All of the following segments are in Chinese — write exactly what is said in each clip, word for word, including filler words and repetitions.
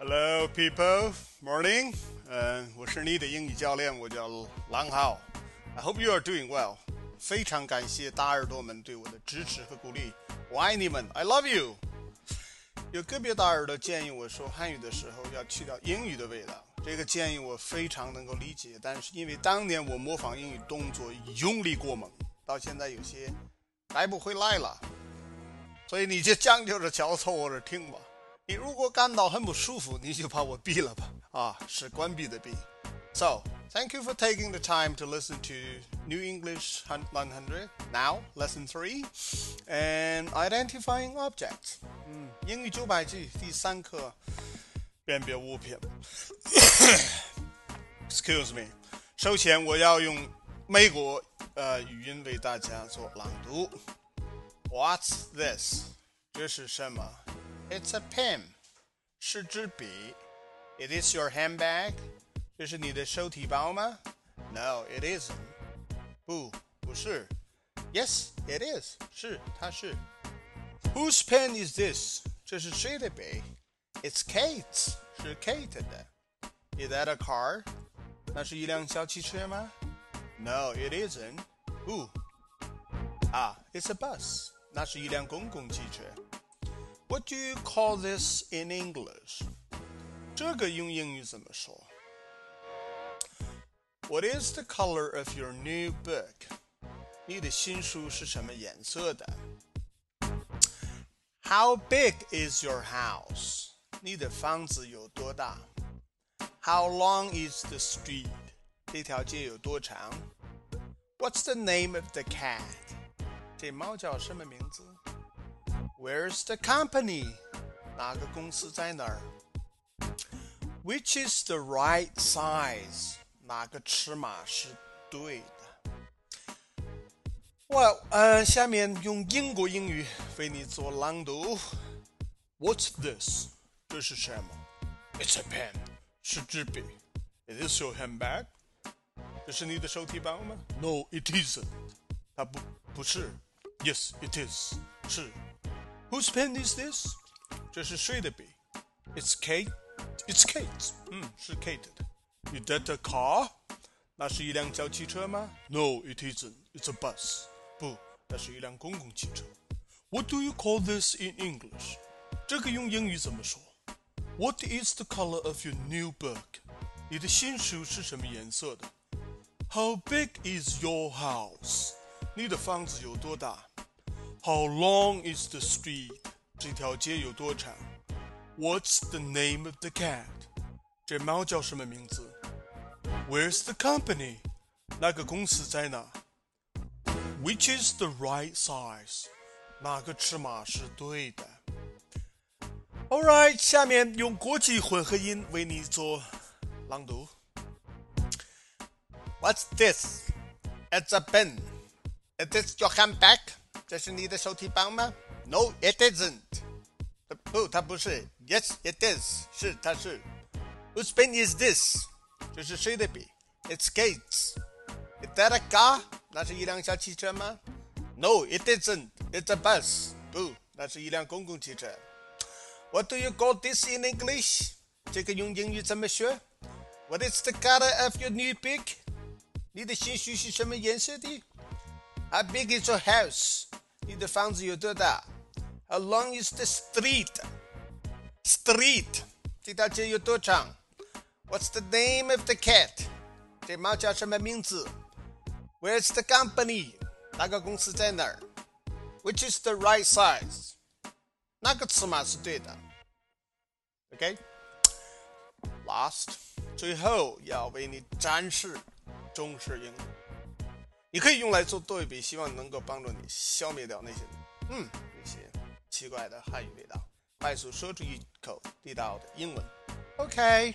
Hello, people. Morning. 嗯、uh, 我是你的英语教练，我叫郎浩。I hope you are doing well. 非常感谢大耳朵们对我的支持和鼓励，我爱你们 ，I love you. 有个别大耳朵建议我说汉语的时候要去掉英语的味道，这个建议我非常能够理解，但是因为当年我模仿英语动作用力过猛，到现在有些改不回来了，所以你就将就着瞧凑合着听吧。你如果感到很不舒服，你就把我闭了吧。啊，是关闭的闭。So, thank you for taking the time to listen to New English one hundred. Now, lesson three, and identifying objects. 嗯，英语九百句第三课，辨别物品。Excuse me. 首先，我要用美国呃语音为大家做朗读。What's this? 这是什么？It's a pen. 是支笔。It is your handbag. 这是你的手提包吗？ No, it isn't. 不，不是。Yes, it is. 是，它是。Whose pen is this? 这是谁的笔？ It's Kate's. 是 Kate 的。Is that a car? 那是一辆小汽车吗？ No, it isn't. 不。啊 It's a bus. 那是一辆公共汽车。What do you call this in English? 这个用英语怎么说？ What is the color of your new book? 你的新书是什么颜色的？ How big is your house? 你的房子有多大？ How long is the street? 这条街有多长？ What's the name of the cat? 这猫叫什么名字？Where's the company? 哪个公司在哪儿？ Which is the right size? 哪个尺码是对的？ Well, 呃，下面用英国英语为你做朗读。What's this? 这是什么？ It's a pen. 是支笔。It is your handbag. 这是你的手提包吗？ No, it isn't. 它不不是。Yes, it is. 是。Whose pen is this? 这是谁的笔？ It's Kate. It's Kate's. 嗯，是 Kate 的。Is that a car? 那是一辆小汽车吗？ No, it isn't. It's a bus. 不，那是一辆公共汽车。What do you call this in English? 这个用英语怎么说？ What is the color of your new book? 你的新书是什么颜色的？ How big is your house? 你的房子有多大？How long is the street? 这条街有多长？ What's the name of the cat? 这猫叫什么名字？ Where's the company? 那个公司在哪？ Which is the right size? 哪个尺码是对的？ Alright, 下面用国际混合音为你做朗读。What's this? It's a pen. Is this your handbag?这是你的手提包吗？ No, it isn't. 不，它不是。Yes, it is. 是，它是。Whose pen is this? 这是谁的笔？ It's Kate's. Is that a car? 那是一辆小汽车吗？ No, it isn't. It's a bus. 不，那是一辆公共汽车。What do you call this in English? 这个用英语怎么学？ What is the color of your new book? 你的新书是什么颜色的？How big is your house? 你的房子有多大？ How long is the street? Street. 这条街有多长？ What's the name of the cat? 这猫叫什么名字？ Where's the company? 那个公司在哪儿？ Which is the right size? 那个尺码是对的。OK? Last. 最后要为你展示中式英语。你可以用来做对比，希望能够帮助你消灭掉那些嗯那些奇怪的汉语味道，快速说出一口地道的英文。OK,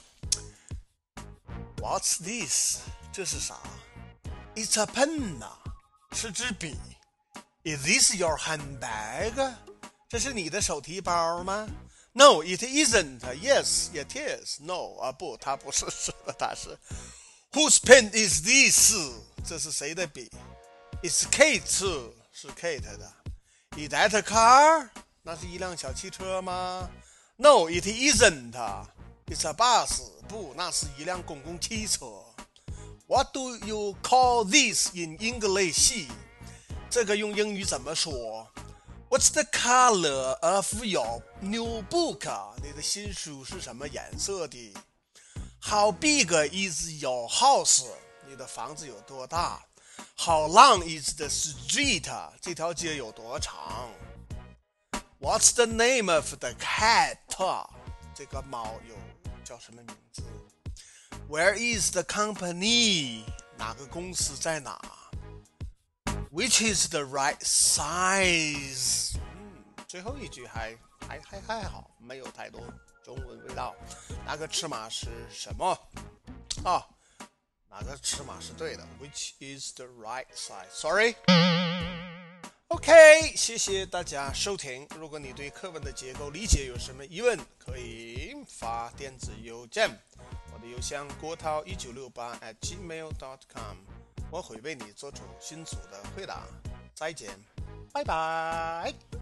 What's this? 这是啥？ It's a pen 啊，是支笔。Is this your handbag? 这是你的手提包吗？ No, it isn't. Yes, it is. No 啊不，它不是，是的，它是。Whose pen is this? 这是谁的笔？ It's Kate. 是 Kate 的。Is that a car? 那是一辆小汽车吗？ No, it isn't. It's a bus. 不，那是一辆公共汽车。What do you call this in English? 这个用英语怎么说 ？What's the color of your new book? 你的新书是什么颜色的 ？How big is your house? 你的房子有多大 ？How long is the street? 这条街有多长 ？What's the name of the cat? 这个猫有叫什么名字 ？Where is the company? 哪个公司在哪 ？Which is the right size? 嗯，最后一句还还还还好，没有太多中文味道。哪个尺码是什么？啊，哪个尺码是对的 ？Which is the right size? Sorry.OK， 谢谢大家收听。如果你对课文的结构理解有什么疑问，可以发电子邮件。我的邮箱郭涛一九六八 at gmail dot com， 我会为你做出迅速的回答。再见，拜拜。